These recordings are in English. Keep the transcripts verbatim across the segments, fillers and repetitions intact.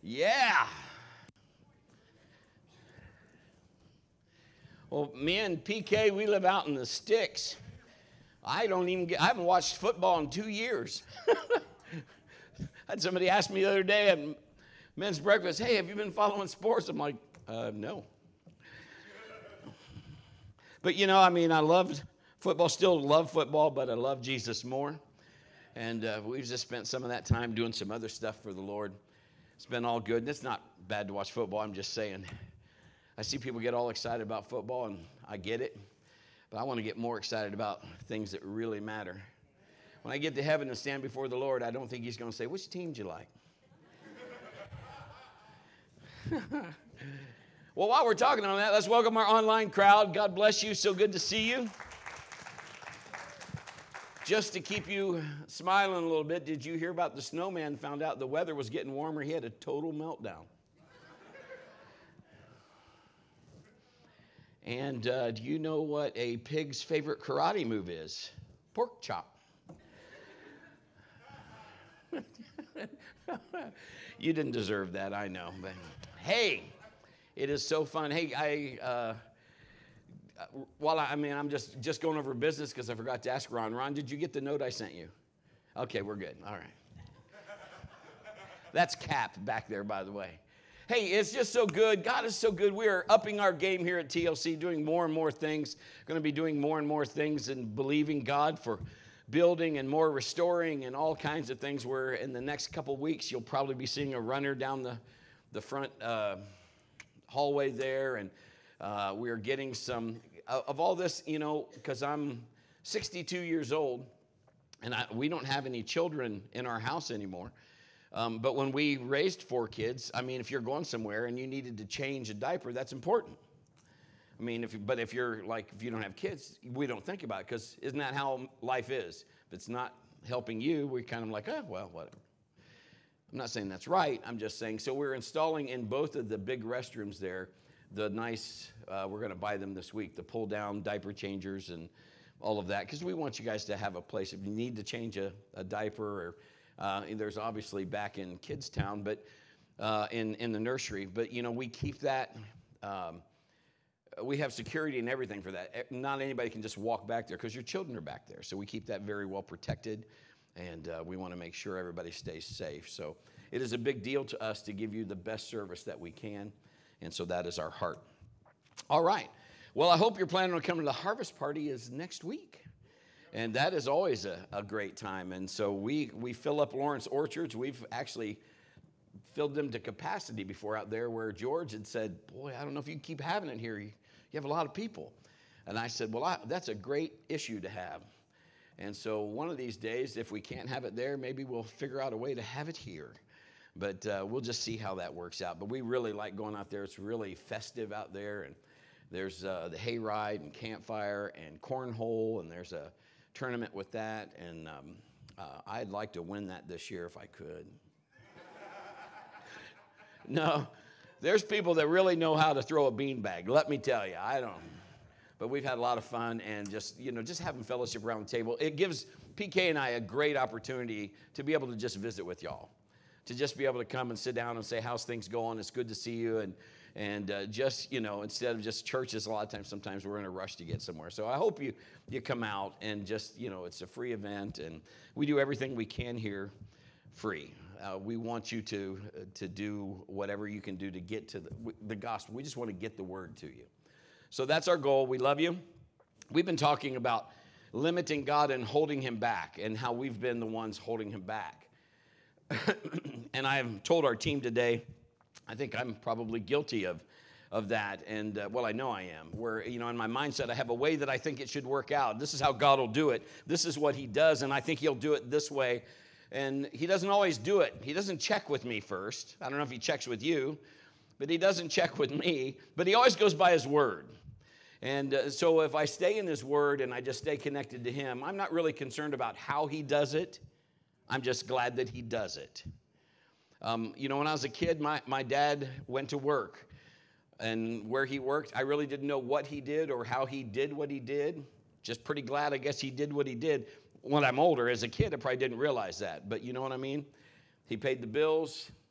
Yeah. Well, me and P K, we live out in the sticks. I don't even get, I haven't watched football in two years. I had somebody ask me the other day at men's breakfast, hey, have you been following sports? I'm like, uh, no. But, you know, I mean, I loved football, still love football, but I love Jesus more. And uh, we've just spent some of that time doing some other stuff for the Lord. It's been all good. And it's not bad to watch football. I'm just saying, I see people get all excited about football, and I get it. But I want to get more excited about things that really matter. When I get to heaven and stand before the Lord, I don't think he's going to say, which team do you like? Well, while we're talking on that, let's welcome our online crowd. God bless you. So good to see you. Just to keep you smiling a little bit, did you hear about the snowman found out the weather was getting warmer? He had a total meltdown. And uh, do you know what a pig's favorite karate move is? Pork chop. You didn't deserve that, I know. But hey, it is so fun. Hey, I, uh, while I, I mean, I'm just, just going over business because I forgot to ask Ron. Ron, did you get the note I sent you? Okay, we're good. All right. That's Cap back there, by the way. Hey, it's just so good. God is so good. We are upping our game here at T L C, doing more and more things. Going to be doing more and more things and believing God for building and more restoring and all kinds of things where in the next couple weeks you'll probably be seeing a runner down the, the front uh, hallway there. And uh, we're getting some uh, of all this, you know, because I'm sixty-two years old and I, we don't have any children in our house anymore. Um, but when we raised four kids, I mean, if you're going somewhere and you needed to change a diaper, that's important. I mean, if you, but if you're like, if you don't have kids, we don't think about it because isn't that how life is? If it's not helping you, we kind of like, oh, well, whatever. I'm not saying that's right. I'm just saying, so we're installing in both of the big restrooms there, the nice, uh, we're going to buy them this week, the pull down diaper changers and all of that. Because we want you guys to have a place if you need to change a, a diaper or uh, there's obviously back in Kids Town, but uh, in, in the nursery. But, you know, we keep that. Um, We have security and everything for that. Not anybody can just walk back there because your children are back there. So we keep that very well protected, and uh, we want to make sure everybody stays safe. So it is a big deal to us to give you the best service that we can, and so that is our heart. All right. Well, I hope you're planning on coming to the harvest party is next week, and that is always a, a great time. And so we we fill up Lawrence Orchards. We've actually filled them to capacity before out there where George had said, boy, I don't know if you can keep having it here. You, you have a lot of people. And I said, well, I, that's a great issue to have. And so one of these days, if we can't have it there, maybe we'll figure out a way to have it here. But uh, we'll just see how that works out. But we really like going out there. It's really festive out there. And there's uh, the hayride and campfire and cornhole. And there's a tournament with that. And um, uh, I'd like to win that this year if I could. No, there's people that really know how to throw a beanbag. Let me tell you, I don't. But we've had a lot of fun and just, you know, just having fellowship around the table. It gives P K and I a great opportunity to be able to just visit with y'all, to just be able to come and sit down and say, how's things going? It's good to see you. And, and uh, just, you know, instead of just churches, a lot of times, sometimes we're in a rush to get somewhere. So I hope you, you come out and just, you know, it's a free event. And we do everything we can here free. Uh, we want you to uh, to do whatever you can do to get to the, the gospel. We just want to get the word to you. So that's our goal. We love you. We've been talking about limiting God and holding him back and how we've been the ones holding him back. And I've told our team today, I think I'm probably guilty of, of that. And, uh, well, I know I am. Where, you know, in my mindset, I have a way that I think it should work out. This is how God will do it. This is what he does, and I think he'll do it this way. And he doesn't always do it. He doesn't check with me first. I don't know if he checks with you, but he doesn't check with me. But he always goes by his word. And uh, so if I stay in his word and I just stay connected to him, I'm not really concerned about how he does it. I'm just glad that he does it. Um, you know, when I was a kid, my, my dad went to work. And where he worked, I really didn't know what he did or how he did what he did. Just pretty glad, I guess, he did what he did. When I'm older, as a kid, I probably didn't realize that. But you know what I mean? He paid the bills.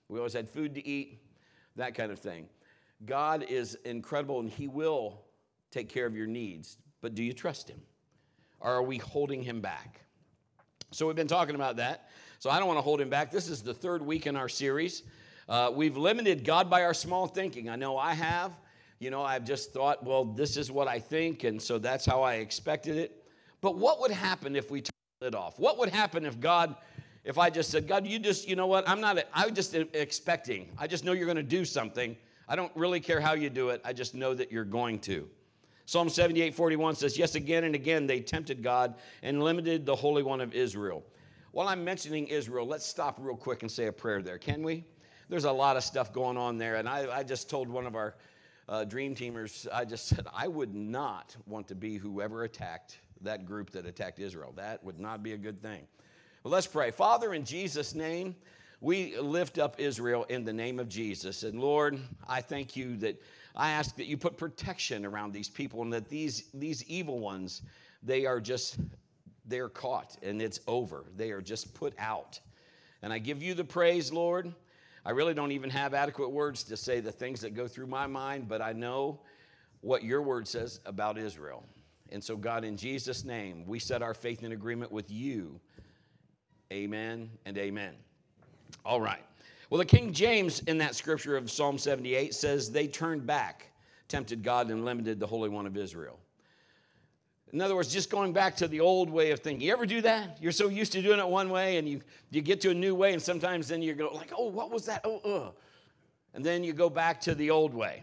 We always had food to eat, that kind of thing. God is incredible, and he will take care of your needs. But do you trust him? Or are we holding him back? So we've been talking about that. So I don't want to hold him back. This is the third week in our series. Uh, we've limited God by our small thinking. I know I have. You know, I've just thought, well, this is what I think, and so that's how I expected it. But what would happen if we turned it off? What would happen if God, if I just said, God, you just, you know what, I'm not, I'm just expecting. I just know you're going to do something. I don't really care how you do it. I just know that you're going to. Psalm seventy-eight forty-one says, yes, again and again they tempted God and limited the Holy One of Israel. While I'm mentioning Israel, let's stop real quick and say a prayer there, can we? There's a lot of stuff going on there, and I, I just told one of our uh, dream teamers, I just said, I would not want to be whoever attacked that group that attacked Israel. That would not be a good thing. But let's pray. Father, in Jesus' name, we lift up Israel in the name of Jesus. And Lord, I thank you that I ask that you put protection around these people and that these, these evil ones, they are just, they're caught and it's over. They are just put out. And I give you the praise, Lord. I really don't even have adequate words to say the things that go through my mind, but I know what your word says about Israel. And so, God, in Jesus' name, we set our faith in agreement with you. Amen and amen. All right. Well, the King James in that scripture of Psalm seventy-eight says they turned back, tempted God, and limited the Holy One of Israel. In other words, just going back to the old way of thinking. You ever do that? You're so used to doing it one way, and you, you get to a new way, and sometimes then you go like, oh, what was that? Oh, uh. And then you go back to the old way.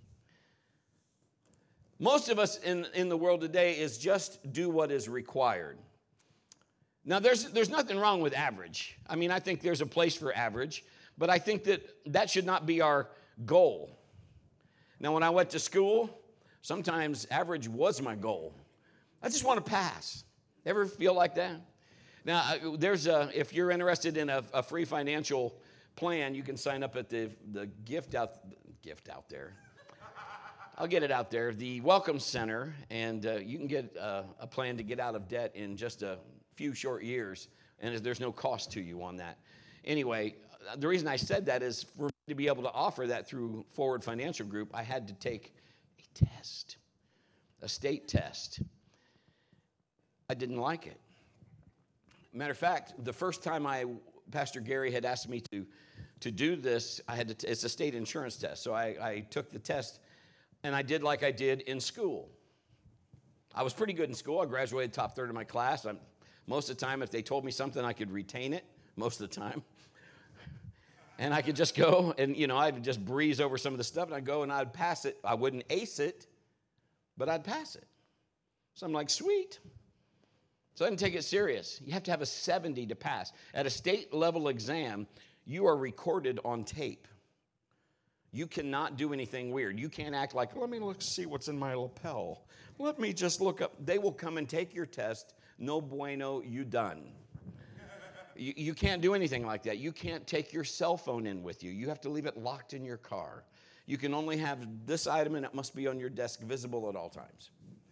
Most of us in, in the world today is just do what is required. Now, there's, there's nothing wrong with average. I mean, I think there's a place for average, but I think that that should not be our goal. Now, when I went to school, sometimes average was my goal. I just want to pass. Ever feel like that? Now, there's a, if you're interested in a, a free financial plan, you can sign up at the, the gift out, gift out there. I'll get it out there, the Welcome Center, and uh, you can get uh, a plan to get out of debt in just a few short years, and there's no cost to you on that. Anyway, the reason I said that is for me to be able to offer that through Forward Financial Group, I had to take a test, a state test. I didn't like it. Matter of fact, the first time I, Pastor Gary had asked me to, to do this, I had to, t- it's a state insurance test. So I, I took the test, and I did like I did in school. I was pretty good in school. I graduated top third of my class. I'm, most of the time, if they told me something, I could retain it most of the time. And I could just go, and, you know, I'd just breeze over some of the stuff, and I'd go, and I'd pass it. I wouldn't ace it, but I'd pass it. So I'm like, sweet. So I didn't take it serious. You have to have a seventy to pass. At a state level exam, you are recorded on tape. You cannot do anything weird. You can't act like, let me look see what's in my lapel. Let me just look up. They will come and take your test. No bueno, you done. you, you can't do anything like that. You can't take your cell phone in with you. You have to leave it locked in your car. You can only have this item, and it must be on your desk, visible at all times.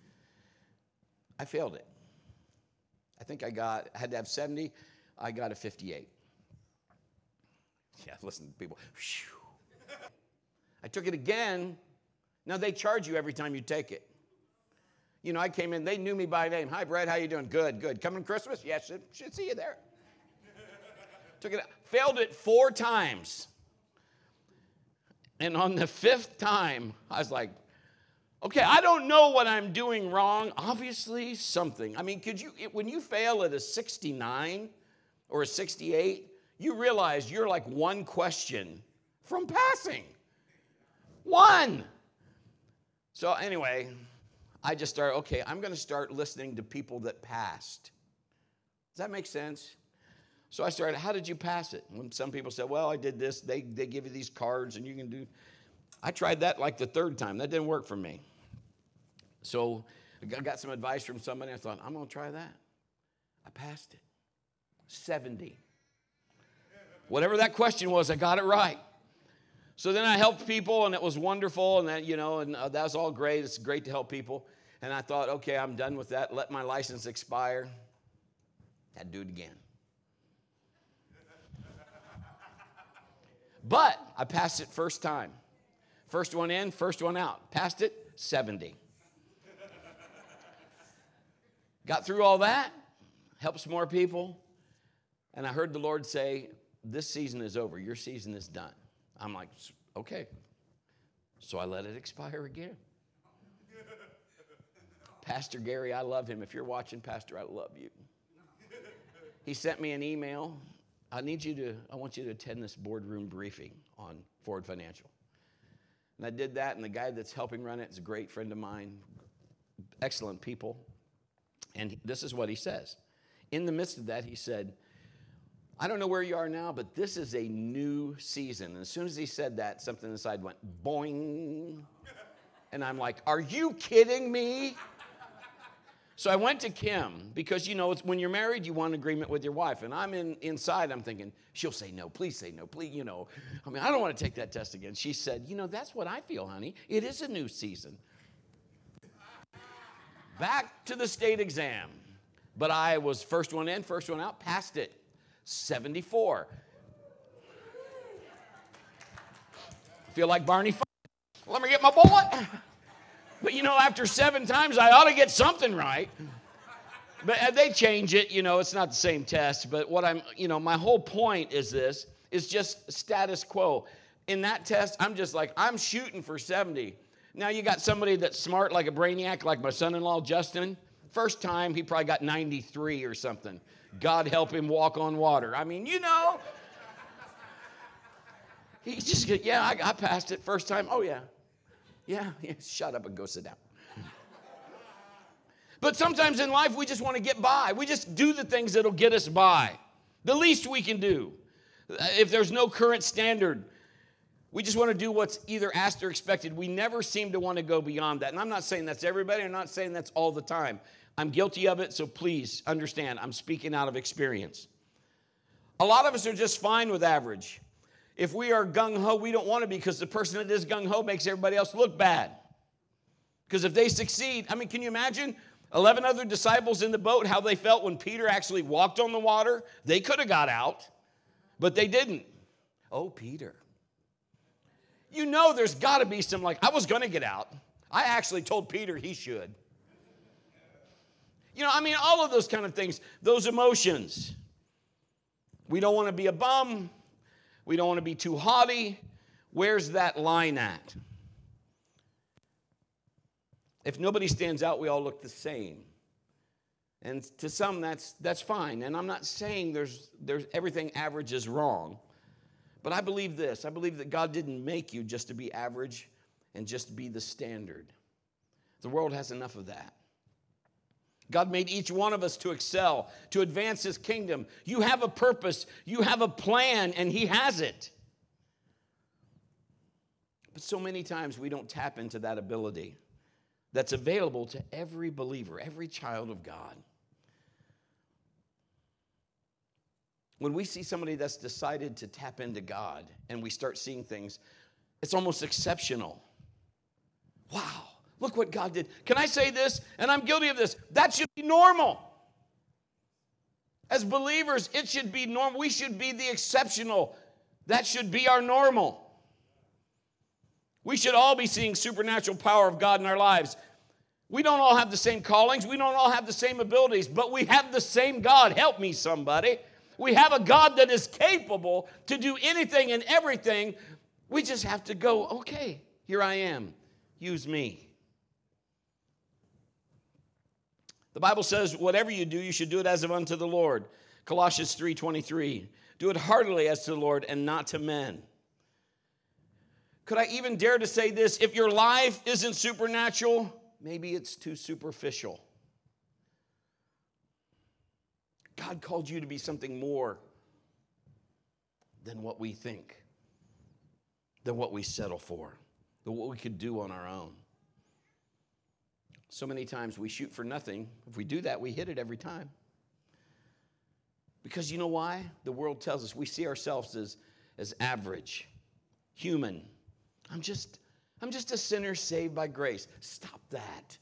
I failed it. I think I got, I had to have seventy. I got a fifty-eight. Yeah, listen, people. Whew. I took it again. Now, they charge you every time you take it. You know, I came in, they knew me by name. Hi, Brad, how you doing? Good, good. Coming Christmas? Yes, should, should see you there. Took it, failed it four times. And on the fifth time, I was like, okay, I don't know what I'm doing wrong. Obviously, something. I mean, could you, when you fail at a sixty-nine or a sixty-eight, you realize you're like one question from passing. One. So anyway, I just started, okay, I'm going to start listening to people that passed. Does that make sense? So I started, how did you pass it? When some people said, well, I did this. They, they give you these cards and you can do. I tried that like the third time. That didn't work for me. So I got some advice from somebody. I thought, I'm going to try that. I passed it. seventy. Whatever that question was, I got it right. So then I helped people, and it was wonderful, and that, you know, and uh, that was all great. It's great to help people. And I thought, okay, I'm done with that. Let my license expire. Had to do it again. But I passed it first time. First one in, first one out. Passed it, seventy. Got through all that, helped some more people, and I heard the Lord say, this season is over. Your season is done. I'm like, okay. So I let it expire again. Pastor Gary, I love him. If you're watching, Pastor, I love you. He sent me an email. I need you to, I want you to attend this boardroom briefing on Forward Financial. And I did that, and the guy that's helping run it is a great friend of mine, excellent people. And this is what he says. In the midst of that, he said, I don't know where you are now, but this is a new season. And as soon as he said that, something inside went boing. And I'm like, are you kidding me? So I went to Kim because, you know, it's when you're married, you want agreement with your wife. And I'm in inside, I'm thinking, she'll say no, please say no, please, you know. I mean, I don't want to take that test again. She said, you know, that's what I feel, honey. It is a new season. Back to the state exam. But I was first one in, first one out, passed it. seventy-four. Feel like Barney. Let me get my bullet. But, you know, after seven times, I ought to get something right. But they change it, you know, it's not the same test. But what I'm, you know, my whole point is this, is just status quo. In that test, I'm just like, I'm shooting for seventy. Now, you got somebody that's smart like a brainiac, like my son-in-law, Justin. First time, he probably got ninety-three or something. God help him walk on water. I mean, you know. He's just, yeah, I, I passed it first time. Oh, yeah. Yeah, yeah, shut up and go sit down. But sometimes in life, we just want to get by. We just do the things that'll get us by. The least we can do. If there's no current standard, we just want to do what's either asked or expected. We never seem to want to go beyond that. And I'm not saying that's everybody. I'm not saying that's all the time. I'm guilty of it, so please understand, I'm speaking out of experience. A lot of us are just fine with average. If we are gung-ho, we don't want to be because the person that is gung-ho makes everybody else look bad. Because if they succeed, I mean, can you imagine eleven other disciples in the boat, how they felt when Peter actually walked on the water? They could have got out, but they didn't. Oh, Peter. You know there's got to be some, like, I was going to get out. I actually told Peter he should. You know, I mean, all of those kind of things, those emotions. We don't want to be a bum. We don't want to be too haughty. Where's that line at? If nobody stands out, we all look the same. And to some, that's that's fine. And I'm not saying there's there's everything average is wrong. But I believe this. I believe that God didn't make you just to be average and just be the standard. The world has enough of that. God made each one of us to excel, to advance his kingdom. You have a purpose, you have a plan, and he has it. But so many times we don't tap into that ability that's available to every believer, every child of God. When we see somebody that's decided to tap into God and we start seeing things, it's almost exceptional. Wow. Look what God did. Can I say this? And I'm guilty of this. That should be normal. As believers, it should be normal. We should be the exceptional. That should be our normal. We should all be seeing supernatural power of God in our lives. We don't all have the same callings. We don't all have the same abilities, but we have the same God. Help me, somebody. We have a God that is capable to do anything and everything. We just have to go, okay, here I am. Use me. The Bible says, whatever you do, you should do it as of unto the Lord. Colossians three twenty-three. Do it heartily as to the Lord and not to men. Could I even dare to say this? If your life isn't supernatural, maybe it's too superficial. God called you to be something more than what we think, than what we settle for, than what we could do on our own. So many times we shoot for nothing. If we do that, we hit it every time. Because you know why? The world tells us we see ourselves as, as average, human. I'm just, I'm just a sinner saved by grace. Stop that.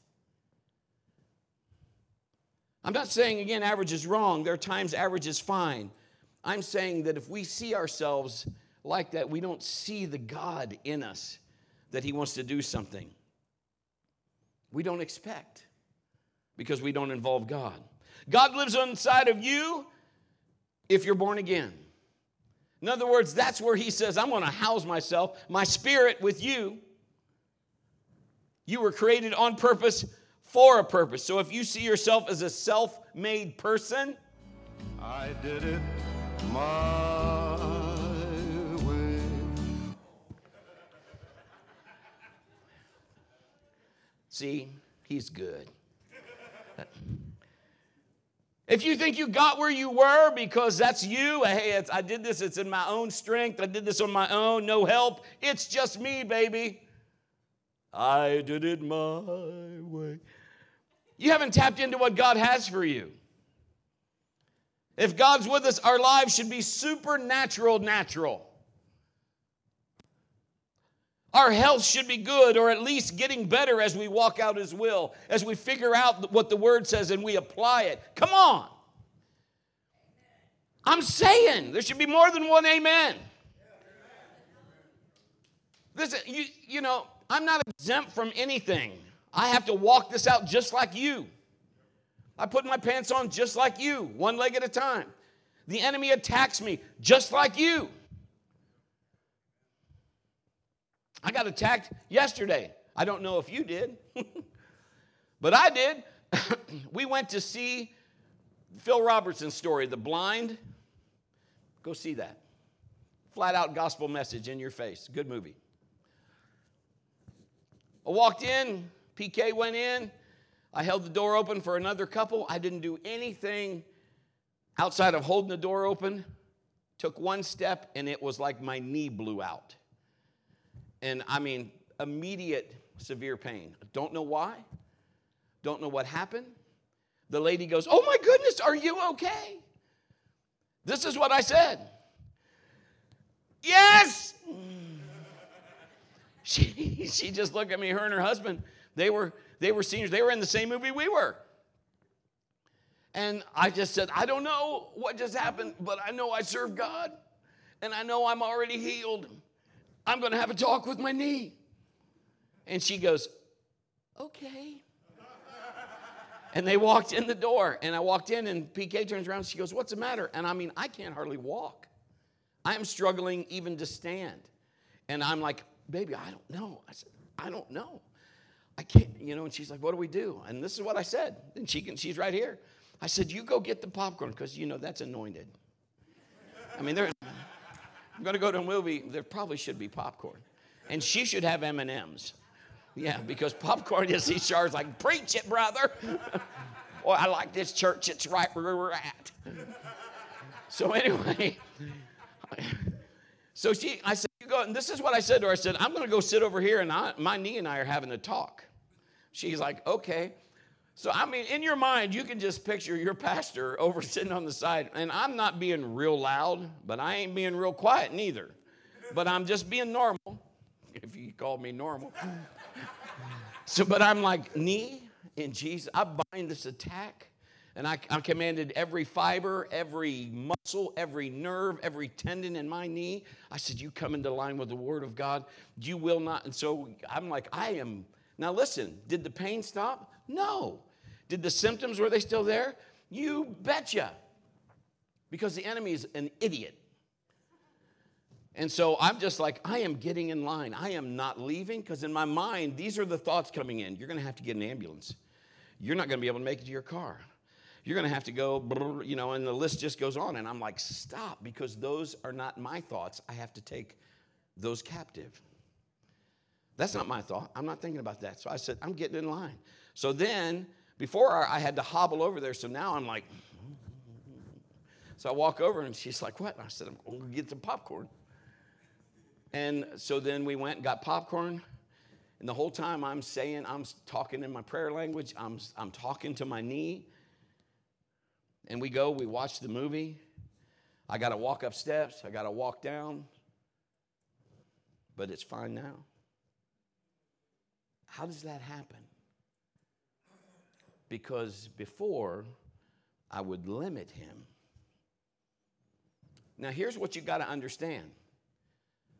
I'm not saying, again, average is wrong. There are times average is fine. I'm saying that if we see ourselves like that. We don't see the God in us that he wants to do something. We don't expect because we don't involve God. God lives inside of you if you're born again. In other words, that's where he says, I'm going to house myself, my spirit with you. You were created on purpose for a purpose. So if you see yourself as a self-made person, I did it my way. See, he's good. If you think you got where you were because that's you, hey, it's, I did this, it's in my own strength, I did this on my own, no help, it's just me, baby. I did it my way. You haven't tapped into what God has for you. If God's with us, our lives should be supernatural natural. Our health should be good, or at least getting better as we walk out his will, as we figure out what the word says and we apply it. Come on. I'm saying there should be more than one amen. Listen, you, you know, I'm not exempt from anything. I have to walk this out just like you. I put my pants on just like you, one leg at a time. The enemy attacks me just like you. I got attacked yesterday. I don't know if you did, but I did. We went to see Phil Robertson's story, The Blind. Go see that. Flat out gospel message in your face. Good movie. I walked in. P K went in. I held the door open for another couple. I didn't do anything outside of holding the door open. Took one step, and it was like my knee blew out. And I mean, immediate severe pain. Don't know why. Don't know what happened. The lady goes, oh my goodness, are you okay? This is what I said. Yes. She, she just looked at me, her and her husband. They were, they were seniors. They were in the same movie we were. And I just said, I don't know what just happened, but I know I serve God. And I know I'm already healed. I'm going to have a talk with my knee. And she goes, okay. And they walked in the door. And I walked in, and P K turns around, and she goes, what's the matter? And I mean, I can't hardly walk. I am struggling even to stand. And I'm like, baby, I don't know. I said, I don't know. I can't, you know, and she's like, what do we do? And this is what I said. And she can, she's right here. I said, you go get the popcorn, because, you know, that's anointed. I mean, they're... I'm going to go to a movie, there probably should be popcorn. And she should have M and M's. Yeah, because popcorn, you see, Char's like, preach it, brother. Boy, I like this church. It's right where we're at. So anyway, so she, I said, you go, and this is what I said to her. I said, I'm going to go sit over here, and I, my knee and I are having a talk. She's like, okay. So, I mean, in your mind, you can just picture your pastor over sitting on the side. And I'm not being real loud, but I ain't being real quiet neither. But I'm just being normal, if you call me normal. So, but I'm like, knee in Jesus, I bind this attack. And I, I commanded every fiber, every muscle, every nerve, every tendon in my knee. I said, you come into line with the word of God. You will not. And so I'm like, I am. Now listen, did the pain stop? No. Did the symptoms, were they still there? You betcha. Because the enemy is an idiot. And so I'm just like, I am getting in line. I am not leaving, because in my mind, these are the thoughts coming in. You're going to have to get an ambulance. You're not going to be able to make it to your car. You're going to have to go, you know, and the list just goes on. And I'm like, stop, because those are not my thoughts. I have to take those captive. That's not my thought. I'm not thinking about that. So I said, I'm getting in line. So then, before I had to hobble over there, so now I'm like, so I walk over, and she's like, what? And I said, I'm going to get some popcorn. And so then we went and got popcorn. And the whole time I'm saying, I'm talking in my prayer language. I'm, I'm talking to my knee. And we go, we watch the movie. I got to walk up steps. I got to walk down. But it's fine now. How does that happen? Because before, I would limit him. Now, here's what you got to understand.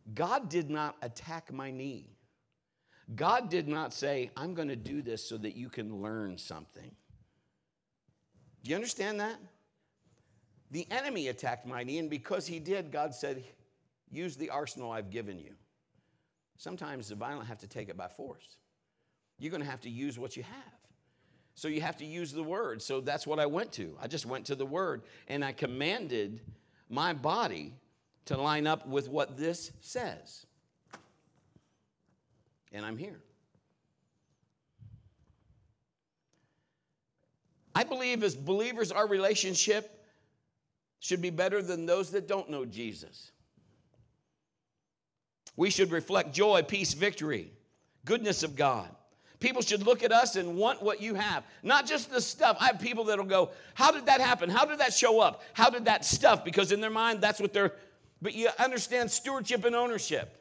God did not attack my knee. God did not say, I'm going to do this so that you can learn something. Do you understand that? The enemy attacked my knee, and because he did, God said, use the arsenal I've given you. Sometimes the violent have to take it by force. You're going to have to use what you have. So you have to use the word. So that's what I went to. I just went to the word, and I commanded my body to line up with what this says. And I'm here. I believe as believers, our relationship should be better than those that don't know Jesus. We should reflect joy, peace, victory, goodness of God. People should look at us and want what you have. Not just the stuff. I have people that will go, how did that happen? How did that show up? How did that stuff? Because in their mind, that's what they're, but you understand stewardship and ownership.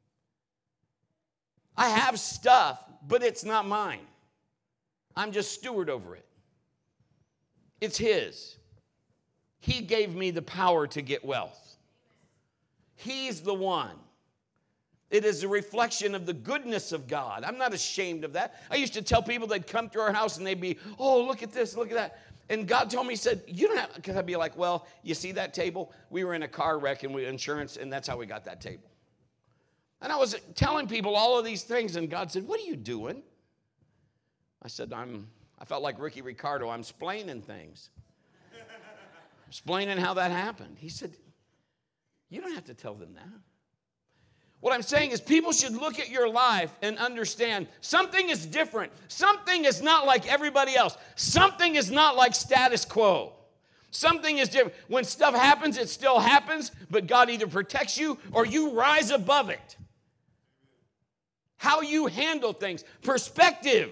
I have stuff, but it's not mine. I'm just steward over it. It's his. He gave me the power to get wealth. He's the one. It is a reflection of the goodness of God. I'm not ashamed of that. I used to tell people they'd come to our house and they'd be, oh, look at this, look at that. And God told me, he said, you don't have, because I'd be like, well, you see that table? We were in a car wreck and we insurance, and that's how we got that table. And I was telling people all of these things, and God said, what are you doing? I said, I'm, I felt like Ricky Ricardo. I'm splaining things. Explaining how that happened. He said, you don't have to tell them that. What I'm saying is people should look at your life and understand something is different. Something is not like everybody else. Something is not like status quo. Something is different. When stuff happens, it still happens, but God either protects you or you rise above it. How you handle things. Perspective.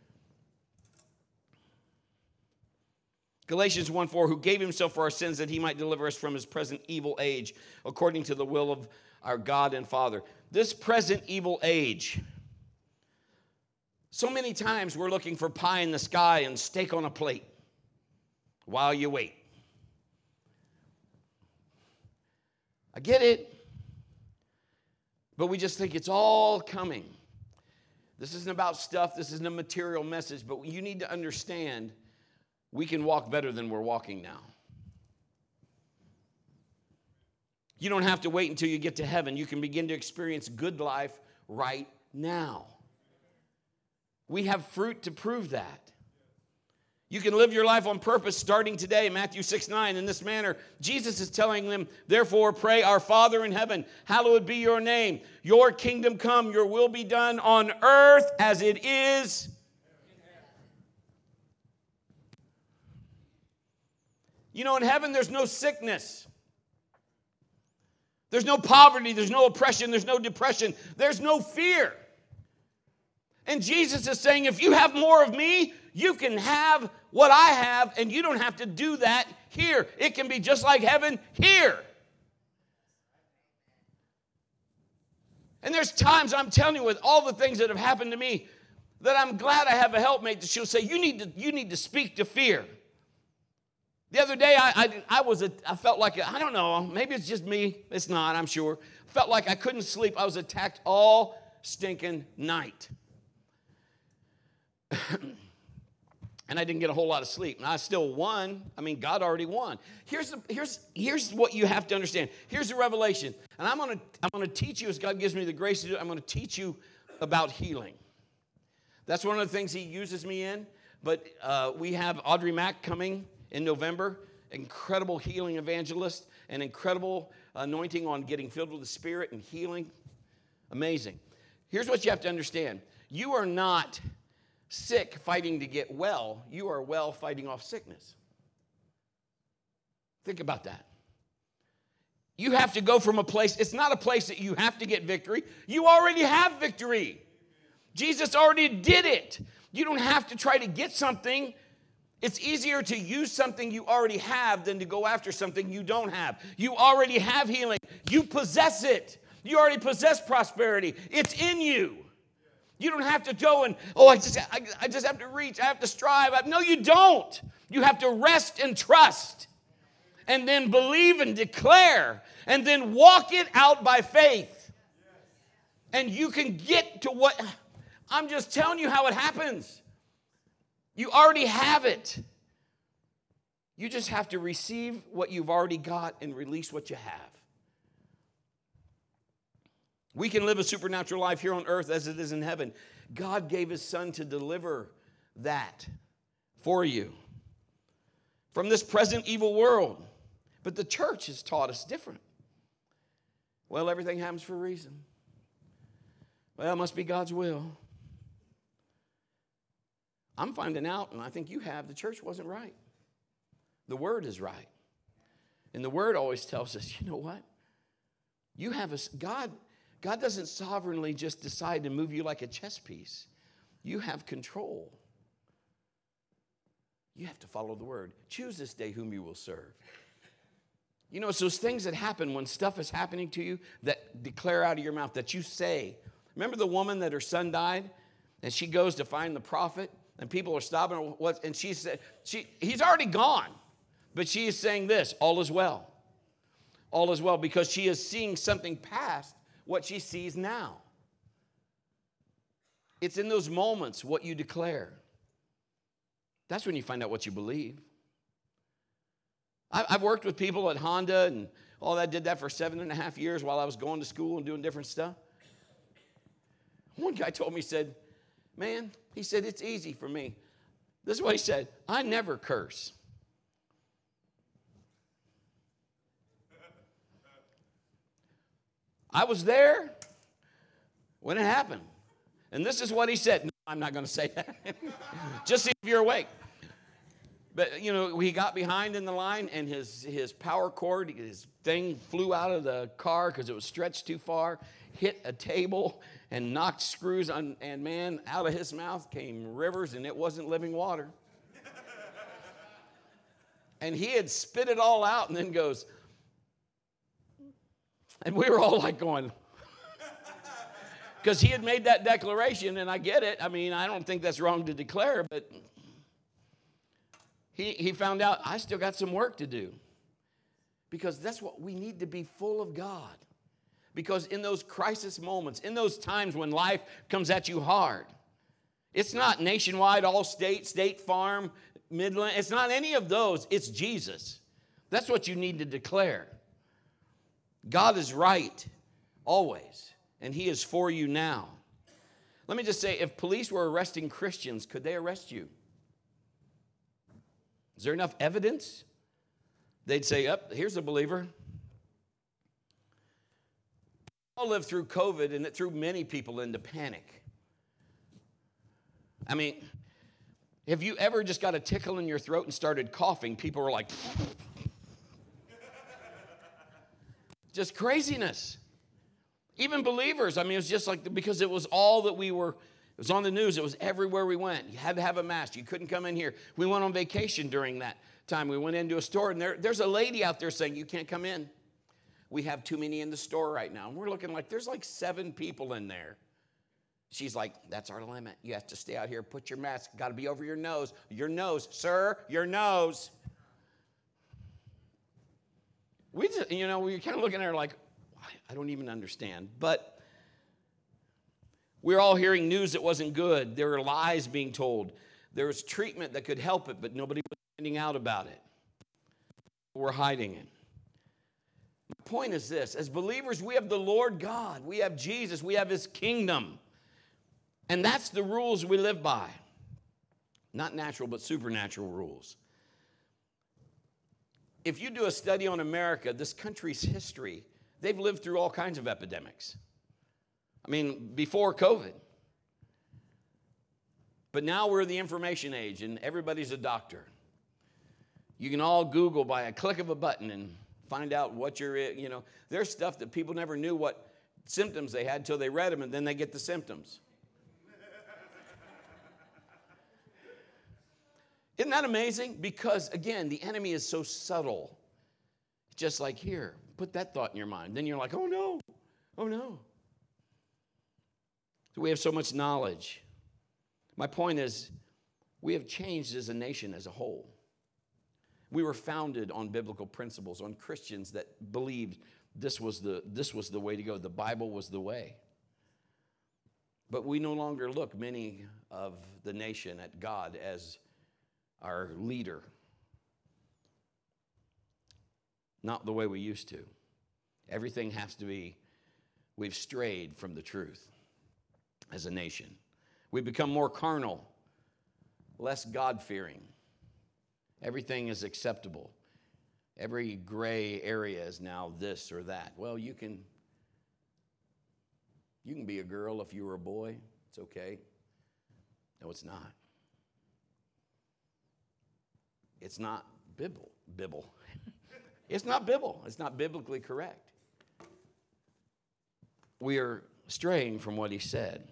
Galatians one four, who gave himself for our sins that he might deliver us from his present evil age, according to the will of our God and Father. This present evil age. So many times we're looking for pie in the sky and steak on a plate while you wait. I get it. But we just think it's all coming. This isn't about stuff. This isn't a material message. But you need to understand we can walk better than we're walking now. You don't have to wait until you get to heaven. You can begin to experience good life right now. We have fruit to prove that. You can live your life on purpose starting today. Matthew six nine, in this manner, Jesus is telling them, therefore pray, our Father in heaven, hallowed be your name. Your kingdom come, your will be done on earth as it is. You know, in heaven there's no sickness. There's no poverty, there's no oppression, there's no depression, there's no fear. And Jesus is saying, if you have more of me, you can have what I have, and you don't have to do that here. It can be just like heaven here. And there's times, I'm telling you, with all the things that have happened to me, that I'm glad I have a helpmate that she'll say, you need to, you need to speak to fear. The other day, I, I, I was a, I felt like, I don't know, maybe it's just me. It's not, I'm sure. Felt like I couldn't sleep. I was attacked all stinking night. And I didn't get a whole lot of sleep. And I still won. I mean, God already won. Here's, the, here's, here's what you have to understand. Here's the revelation. And I'm going to I'm going to teach you, as God gives me the grace to do it, I'm going to teach you about healing. That's one of the things he uses me in. But uh, we have Audrey Mack coming in November, incredible healing evangelist, an incredible anointing on getting filled with the Spirit and healing. Amazing. Here's what you have to understand. You are not sick fighting to get well. You are well fighting off sickness. Think about that. You have to go from a place, it's not a place that you have to get victory. You already have victory. Jesus already did it. You don't have to try to get something. It's easier to use something you already have than to go after something you don't have. You already have healing. You possess it. You already possess prosperity. It's in you. You don't have to go and, oh, I just, I, I just have to reach. I have to strive. I, no, you don't. You have to rest and trust and then believe and declare and then walk it out by faith. And you can get to what, I'm just telling you how it happens. You already have it. You just have to receive what you've already got and release what you have. We can live a supernatural life here on earth as it is in heaven. God gave his son to deliver that for you from this present evil world. But the church has taught us different. Well, everything happens for a reason. Well, it must be God's will. I'm finding out, and I think you have, the church wasn't right. The word is right. And the word always tells us, you know what? You have a, God, God doesn't sovereignly just decide to move you like a chess piece. You have control. You have to follow the word. Choose this day whom you will serve. You know, it's those things that happen when stuff is happening to you that declare out of your mouth, that you say. Remember the woman that her son died? And she goes to find the prophet, and people are stopping her. What? And she said, she, he's already gone. But she is saying this, all is well. All is well, because she is seeing something past what she sees now. It's in those moments what you declare. That's when you find out what you believe. I've worked with people at Honda and all that, did that for seven and a half years while I was going to school and doing different stuff. One guy told me, he said, man, he said, it's easy for me. This is what he said, I never curse. I was there when it happened. And this is what he said. No, I'm not going to say that. Just see if you're awake. But, you know, he got behind in the line, and his, his power cord, his thing flew out of the car because it was stretched too far, hit a table, and knocked screws on, and, man, out of his mouth came rivers, and it wasn't living water. And he had spit it all out and then goes, and we were all like going, because he had made that declaration, and I get it. I mean, I don't think that's wrong to declare, but he, he found out I still got some work to do. Because that's what we need, to be full of God. Because in those crisis moments, in those times when life comes at you hard, it's not Nationwide, Allstate, State Farm, Midland. It's not any of those. It's Jesus. That's what you need to declare. God is right always, and he is for you now. Let me just say, if police were arresting Christians, could they arrest you? Is there enough evidence? They'd say, up, oh, here's a believer. We all lived through COVID, and it threw many people into panic. I mean, have you ever just got a tickle in your throat and started coughing? People were like, just craziness. Even believers, I mean, it was just like, because it was all that we were, it was on the news. It was everywhere we went. You had to have a mask. You couldn't come in here. We went on vacation during that time. We went into a store, and there, there's a lady out there saying, you can't come in. We have too many in the store right now. And we're looking like, there's like seven people in there. She's like, that's our limit. You have to stay out here, put your mask. Got to be over your nose. Your nose, sir, your nose. We just, you know, we were kind of looking at her like, I don't even understand. But we're all hearing news that wasn't good. There were lies being told. There was treatment that could help it, but nobody was finding out about it. We're hiding it. My point is this. As believers, we have the Lord God. We have Jesus. We have his kingdom. And that's the rules we live by. Not natural, but supernatural rules. If you do a study on America, this country's history, they've lived through all kinds of epidemics. I mean, before COVID. But now we're the information age, and everybody's a doctor. You can all Google by a click of a button and find out what you're, you know. There's stuff that people never knew what symptoms they had until they read them, and then they get the symptoms. Isn't that amazing? Because, again, the enemy is so subtle. Just like, here, put that thought in your mind. Then you're like, oh, no. Oh, no. So we have so much knowledge. My point is, we have changed as a nation as a whole. We were founded on biblical principles, on Christians that believed this was the, this was the way to go. The Bible was the way. But we no longer look, many of the nation, at God as our leader. Not the way we used to. Everything has to be, we've strayed from the truth as a nation. We've become more carnal, less God-fearing. Everything is acceptable. Every gray area is now this or that. Well, you can, you can be a girl if you were a boy. It's okay. No, it's not. It's not Bible. Bible. It's not Bible. It's not biblically correct. We are straying from what he said.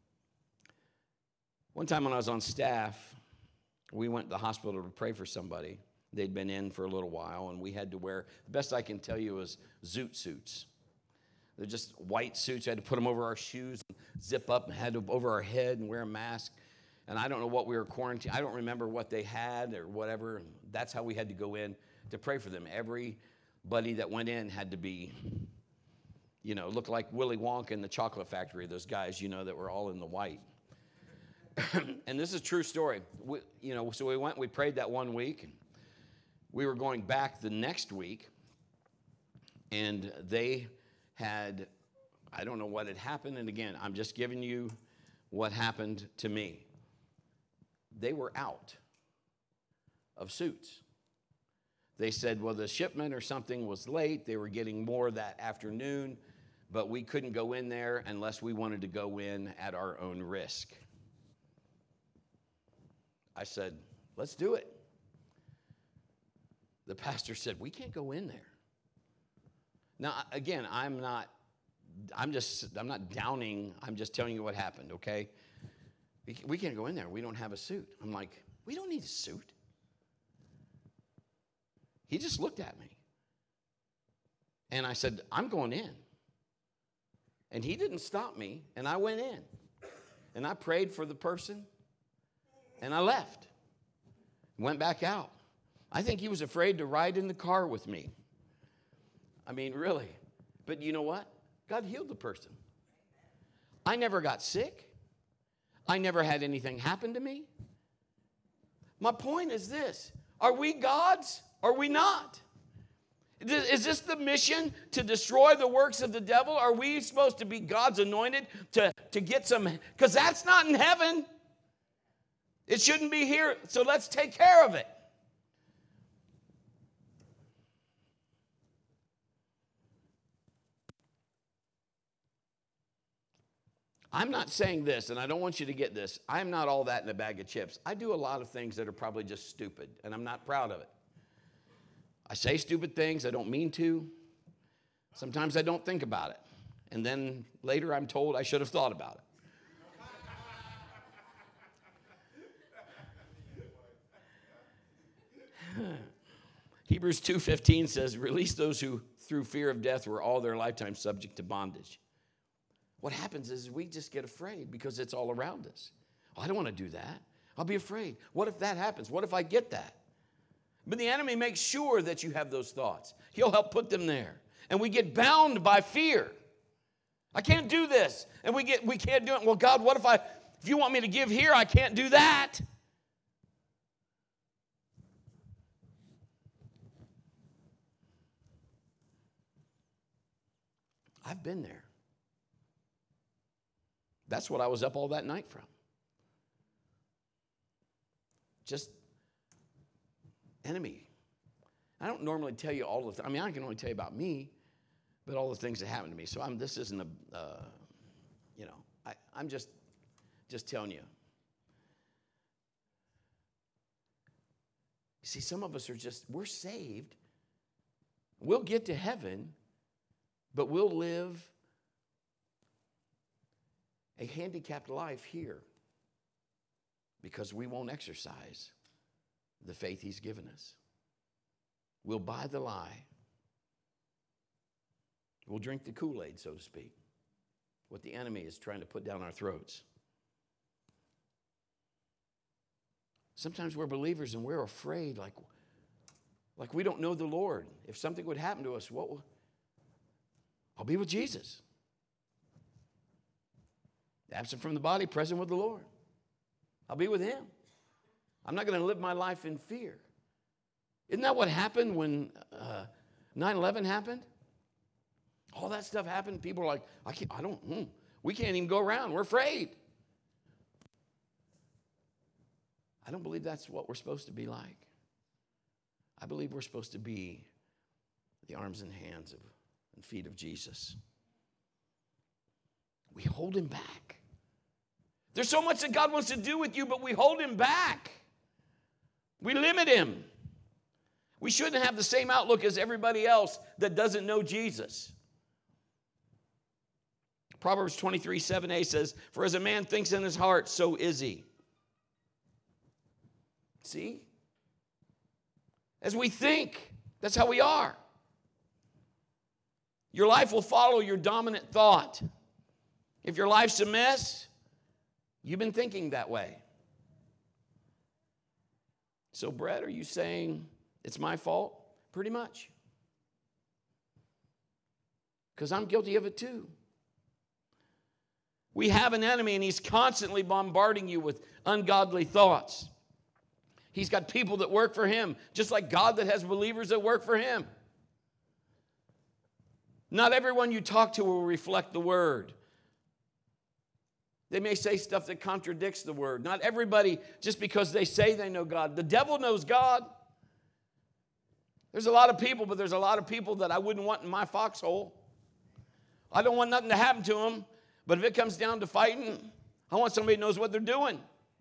One time when I was on staff, we went to the hospital to pray for somebody. They'd been in for a little while, and we had to wear, the best I can tell you is zoot suits. They're just white suits. We had to put them over our shoes, zip up, and had to over our head and wear a mask. And I don't know what we were quarantined. I don't remember what they had or whatever. And that's how we had to go in to pray for them. Everybody that went in had to be, you know, look like Willy Wonka in the chocolate factory, those guys, you know, that were all in the white. And this is a true story. We, you know, so we went, we prayed that one week. And we were going back the next week, and they had, I don't know what had happened. And again, I'm just giving you what happened to me. They were out of suits. They said, well, the shipment or something was late. They were getting more that afternoon, but we couldn't go in there unless we wanted to go in at our own risk. I said, let's do it. The pastor said, we can't go in there. Now, again, I'm not, I'm just, I'm not downing. I'm just telling you what happened, okay? We can't go in there. We don't have a suit. I'm like, we don't need a suit. He just looked at me. And I said, I'm going in. And he didn't stop me, and I went in. And I prayed for the person, and I left. Went back out. I think he was afraid to ride in the car with me. I mean, really. But you know what? God healed the person. I never got sick. I never had anything happen to me. My point is this. Are we God's? Are we not? Is this the mission to destroy the works of the devil? Are we supposed to be God's anointed to, to get some? Because that's not in heaven. It shouldn't be here. So let's take care of it. I'm not saying this, and I don't want you to get this. I'm not all that in a bag of chips. I do a lot of things that are probably just stupid, and I'm not proud of it. I say stupid things I don't mean to. Sometimes I don't think about it. And then later I'm told I should have thought about it. Hebrews two fifteen says, release those who through fear of death were all their lifetime subject to bondage. What happens is we just get afraid because it's all around us. Oh, I don't want to do that. I'll be afraid. What if that happens? What if I get that? But the enemy makes sure that you have those thoughts. He'll help put them there. And we get bound by fear. I can't do this. And we get we can't do it. Well, God, what if I, if you want me to give here, I can't do that. I've been there. That's what I was up all that night from. Just enemy. I don't normally tell you all of the, I mean, I can only tell you about me, but all the things that happened to me. So I'm, this isn't a, uh, you know, I, I'm just, just telling you. You see, some of us are just, we're saved. We'll get to heaven, but we'll live a handicapped life here because we won't exercise the faith he's given us. We'll buy the lie. We'll drink the Kool-Aid, so to speak, what the enemy is trying to put down our throats. Sometimes we're believers and we're afraid, like, like we don't know the Lord. If something would happen to us, what will, I'll be with Jesus. Absent from the body, present with the Lord. I'll be with him. I'm not going to live my life in fear. Isn't that what happened when uh, nine eleven happened? All that stuff happened. People are like, I can't, I don't, hmm, we can't even go around. We're afraid. I don't believe that's what we're supposed to be like. I believe we're supposed to be the arms and hands of, and feet of Jesus. We hold him back. There's so much that God wants to do with you, but we hold him back. We limit him. We shouldn't have the same outlook as everybody else that doesn't know Jesus. Proverbs twenty-three, seven a says, for as a man thinks in his heart, so is he. See? As we think, that's how we are. Your life will follow your dominant thought. If your life's a mess, you've been thinking that way. So, Brett, are you saying it's my fault? Pretty much. Because I'm guilty of it too. We have an enemy, and he's constantly bombarding you with ungodly thoughts. He's got people that work for him, just like God that has believers that work for him. Not everyone you talk to will reflect the word. They may say stuff that contradicts the word. Not everybody, just because they say they know God. The devil knows God. There's a lot of people, but there's a lot of people that I wouldn't want in my foxhole. I don't want nothing to happen to them, but if it comes down to fighting, I want somebody who knows what they're doing.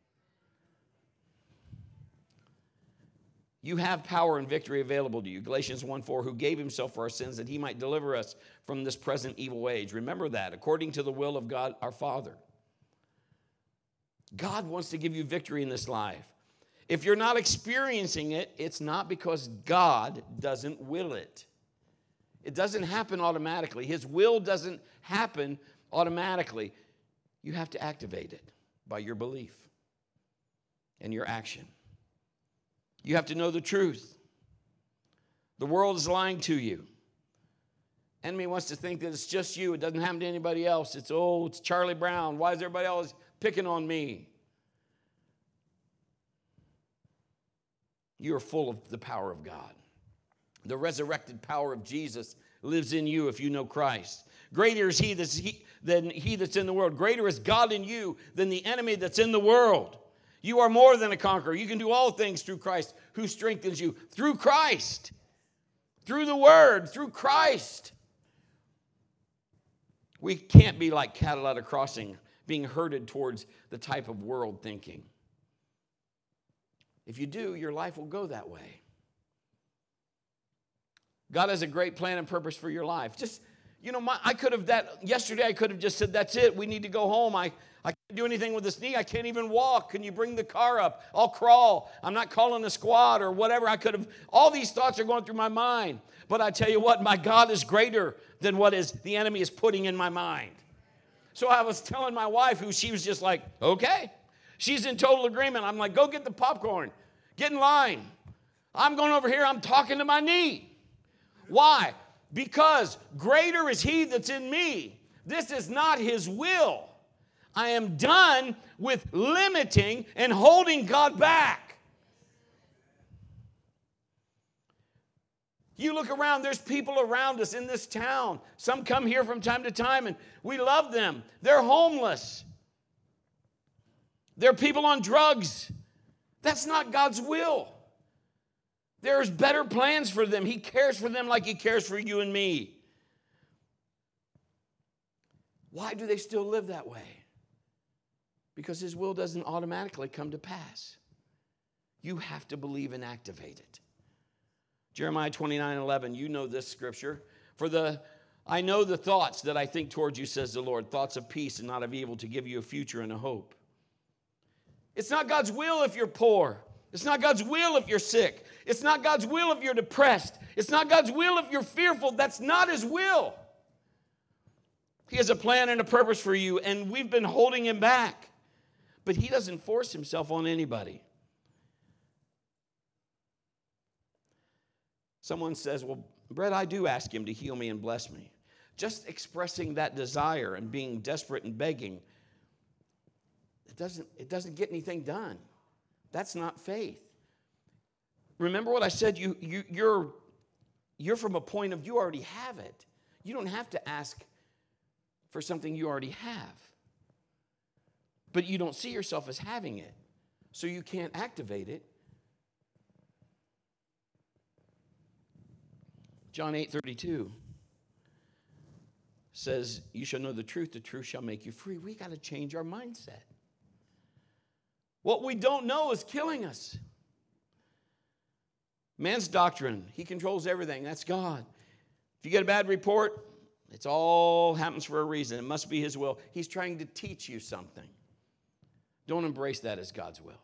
You have power and victory available to you. Galatians one four, who gave himself for our sins that he might deliver us from this present evil age. Remember that, according to the will of God our Father. God wants to give you victory in this life. If you're not experiencing it, it's not because God doesn't will it. It doesn't happen automatically. His will doesn't happen automatically. You have to activate it by your belief and your action. You have to know the truth. The world is lying to you. Enemy wants to think that it's just you. It doesn't happen to anybody else. It's, oh, it's Charlie Brown. Why is everybody else picking on me? You are full of the power of God. The resurrected power of Jesus lives in you if you know Christ. Greater is he that's he, than he that's in the world. Greater is God in you than the enemy that's in the world. You are more than a conqueror. You can do all things through Christ who strengthens you. Through Christ. Through the Word. Through Christ. We can't be like cattle at a crossing, being herded towards the type of world thinking. If you do, your life will go that way. God has a great plan and purpose for your life. Just, you know, my, I could have that, yesterday I could have just said, that's it, we need to go home. I, I can't do anything with this knee. I can't even walk. Can you bring the car up? I'll crawl. I'm not calling a squad or whatever. I could have, all these thoughts are going through my mind. But I tell you what, my God is greater than what is the enemy is putting in my mind. So I was telling my wife, who she was just like, okay. She's in total agreement. I'm like, go get the popcorn. Get in line. I'm going over here. I'm talking to my knee. Why? Because greater is he that's in me. This is not his will. I am done with limiting and holding God back. You look around, there's people around us in this town. Some come here from time to time, and we love them. They're homeless. They're people on drugs. That's not God's will. There's better plans for them. He cares for them like he cares for you and me. Why do they still live that way? Because his will doesn't automatically come to pass. You have to believe and activate it. Jeremiah twenty-nine eleven, you know this scripture. For the I know the thoughts that I think towards you, says the Lord, thoughts of peace and not of evil, to give you a future and a hope. It's not God's will if you're poor. It's not God's will if you're sick. It's not God's will if you're depressed. It's not God's will if you're fearful. That's not his will. He has a plan and a purpose for you, and we've been holding him back. But he doesn't force himself on anybody. Someone says, well, Brett, I do ask him to heal me and bless me. Just expressing that desire and being desperate and begging doesn't, it doesn't get anything done. That's not faith. Remember what I said? You, you, you're, you're from a point of you already have it. You don't have to ask for something you already have. But you don't see yourself as having it, so you can't activate it. John eight thirty-two says, you shall know the truth, the truth shall make you free. We got to change our mindset. What we don't know is killing us. Man's doctrine, he controls everything. That's God. If you get a bad report, it's all happens for a reason. It must be his will. He's trying to teach you something. Don't embrace that as God's will.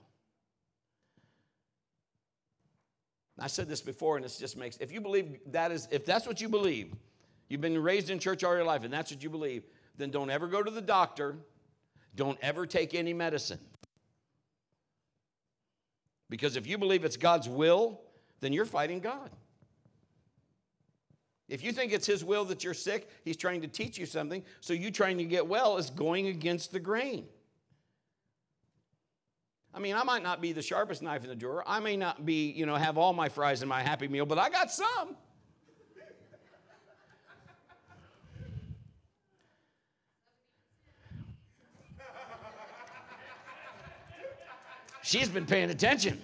I said this before, and it just makes, if you believe that is, if that's what you believe, you've been raised in church all your life, and that's what you believe, then don't ever go to the doctor. Don't ever take any medicine. Because if you believe it's God's will, then you're fighting God. If you think it's his will that you're sick, he's trying to teach you something, so you trying to get well is going against the grain. I mean, I might not be the sharpest knife in the drawer. I may not be, you know, have all my fries in my Happy Meal, but I got some. She's been paying attention.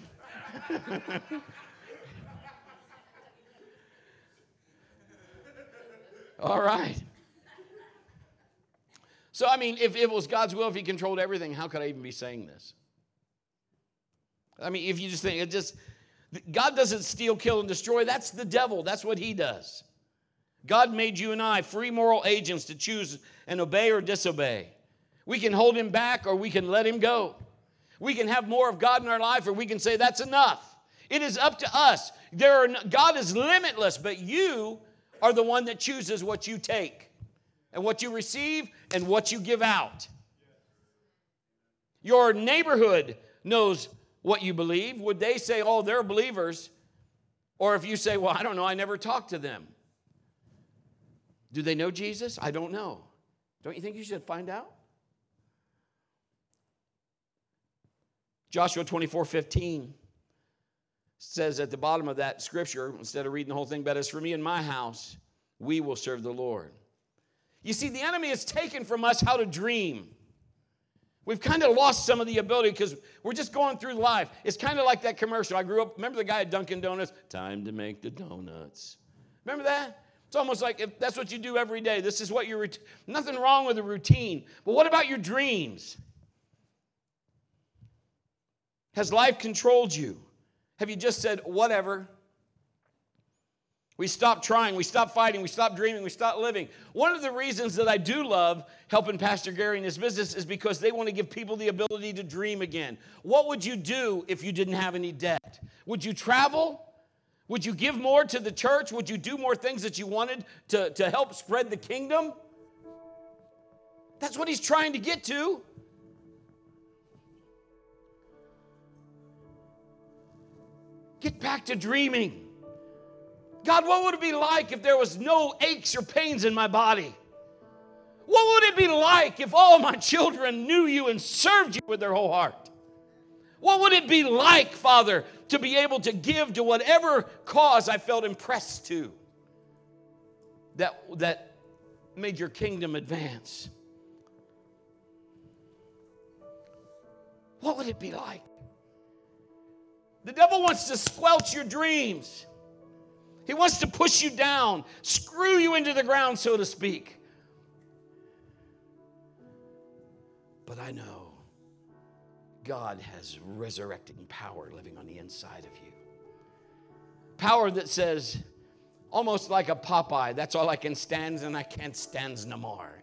All right. So, I mean, if, if it was God's will, if he controlled everything, how could I even be saying this? I mean, if you just think, it just, God doesn't steal, kill, and destroy. That's the devil. That's what he does. God made you and I free moral agents to choose and obey or disobey. We can hold him back or we can let him go. We can have more of God in our life or we can say that's enough. It is up to us. There are no, God is limitless, but you are the one that chooses what you take and what you receive and what you give out. Your neighborhood knows what you believe. Would they say, oh, they're believers? Or if you say, well, I don't know, I never talked to them. Do they know Jesus? I don't know. Don't you think you should find out? Joshua twenty-four fifteen says at the bottom of that scripture, instead of reading the whole thing, but as for me and my house, we will serve the Lord. You see, the enemy has taken from us how to dream. We've kind of lost some of the ability because we're just going through life. It's kind of like that commercial. I grew up, remember the guy at Dunkin' Donuts? Time to make the donuts. Remember that? It's almost like if that's what you do every day. This is what you're, nothing wrong with a routine. But what about your dreams? Has life controlled you? Have you just said, whatever? We stop trying, we stop fighting, we stop dreaming, we stop living. One of the reasons that I do love helping Pastor Gary in his business is because they want to give people the ability to dream again. What would you do if you didn't have any debt? Would you travel? Would you give more to the church? Would you do more things that you wanted to, to help spread the kingdom? That's what he's trying to get to. Get back to dreaming. God, what would it be like if there was no aches or pains in my body? What would it be like if all my children knew you and served you with their whole heart? What would it be like, Father, to be able to give to whatever cause I felt impressed to that, that made your kingdom advance? What would it be like? The devil wants to squelch your dreams. He wants to push you down, screw you into the ground, so to speak. But I know God has resurrecting power living on the inside of you. Power that says, almost like a Popeye, that's all I can stand and I can't stand no more.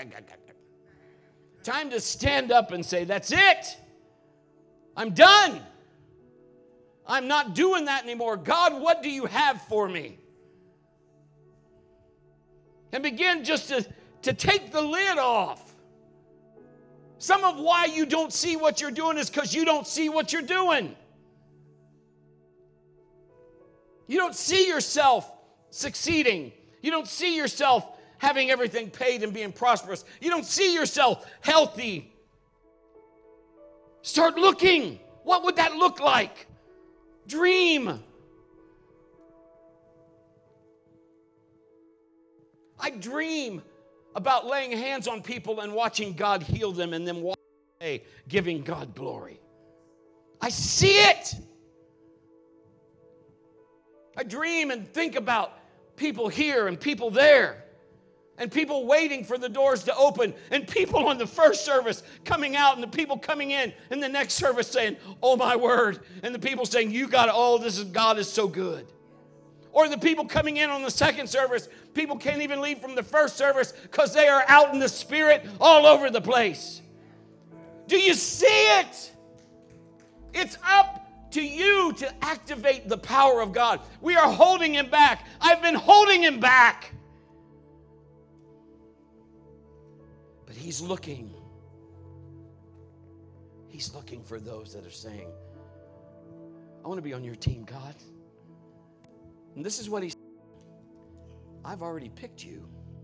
Time to stand up and say, that's it. I'm done. I'm not doing that anymore. God, what do you have for me? And begin just to, to take the lid off. Some of why you don't see what you're doing is because you don't see what you're doing. You don't see yourself succeeding. You don't see yourself having everything paid and being prosperous. You don't see yourself healthy. Start looking. What would that look like? Dream. I dream about laying hands on people and watching God heal them and then walk away giving God glory. I see it. I dream and think about people here and people there and people waiting for the doors to open and people on the first service coming out and the people coming in in the next service saying, oh my word, and the people saying, you got it, oh, this is, God is so good. Or the people coming in on the second service, people can't even leave from the first service because they are out in the Spirit all over the place. Do you see it? It's up to you to activate the power of God. We are holding him back. I've been holding him back. But he's looking. He's looking for those that are saying, I want to be on your team, God. And this is what he's saying. I've already picked you.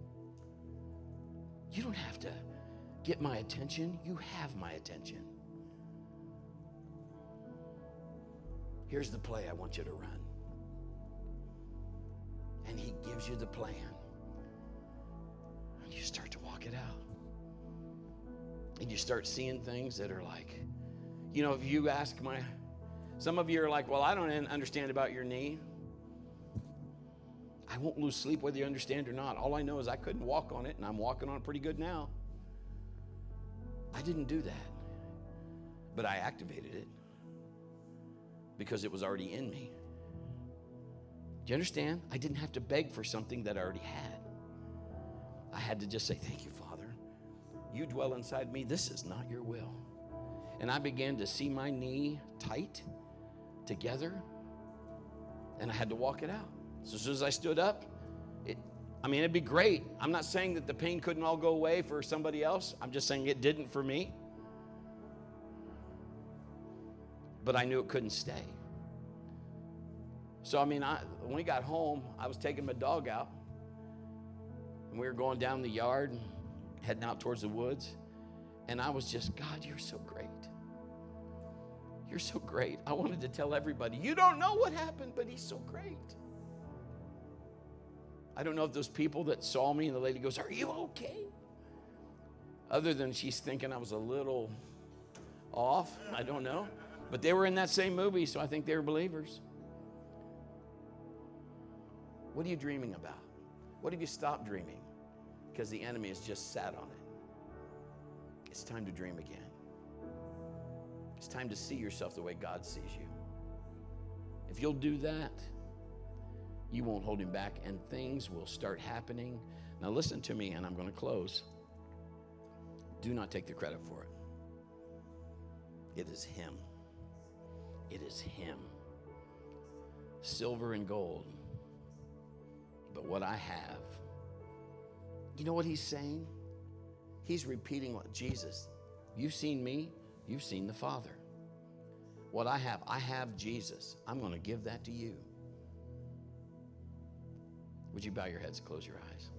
You don't have to get my attention. You have my attention. Here's the play I want you to run. And he gives you the plan. And you start to walk it out. And you start seeing things that are like, you know, if you ask my, some of you are like, well, I don't understand about your knee. I won't lose sleep whether you understand or not. All I know is I couldn't walk on it, and I'm walking on it pretty good now. I didn't do that. But I activated it because it was already in me. Do you understand? I didn't have to beg for something that I already had. I had to just say, thank you, Father. You dwell inside me. This is not your will. And I began to see my knee tight together, and I had to walk it out. So as soon as I stood up, it, I mean, it'd be great. I'm not saying that the pain couldn't all go away for somebody else. I'm just saying it didn't for me. But I knew it couldn't stay. So, I mean, I, when we got home, I was taking my dog out. And we were going down the yard, and heading out towards the woods. And I was just, God, you're so great. You're so great. I wanted to tell everybody, you don't know what happened, but he's so great. I don't know if those people that saw me and the lady goes, are you okay? Other than she's thinking I was a little off. I don't know. But they were in that same movie, so I think they were believers. What are you dreaming about? What have you stopped dreaming? Because the enemy has just sat on it. It's time to dream again. It's time to see yourself the way God sees you. If you'll do that, you won't hold him back, and things will start happening. Now listen to me, and I'm going to close. Do not take the credit for it. It is him. It is him. Silver and gold. But what I have, you know what he's saying? He's repeating what Jesus, you've seen me, you've seen the Father. What I have, I have Jesus. I'm going to give that to you. Would you bow your heads and close your eyes?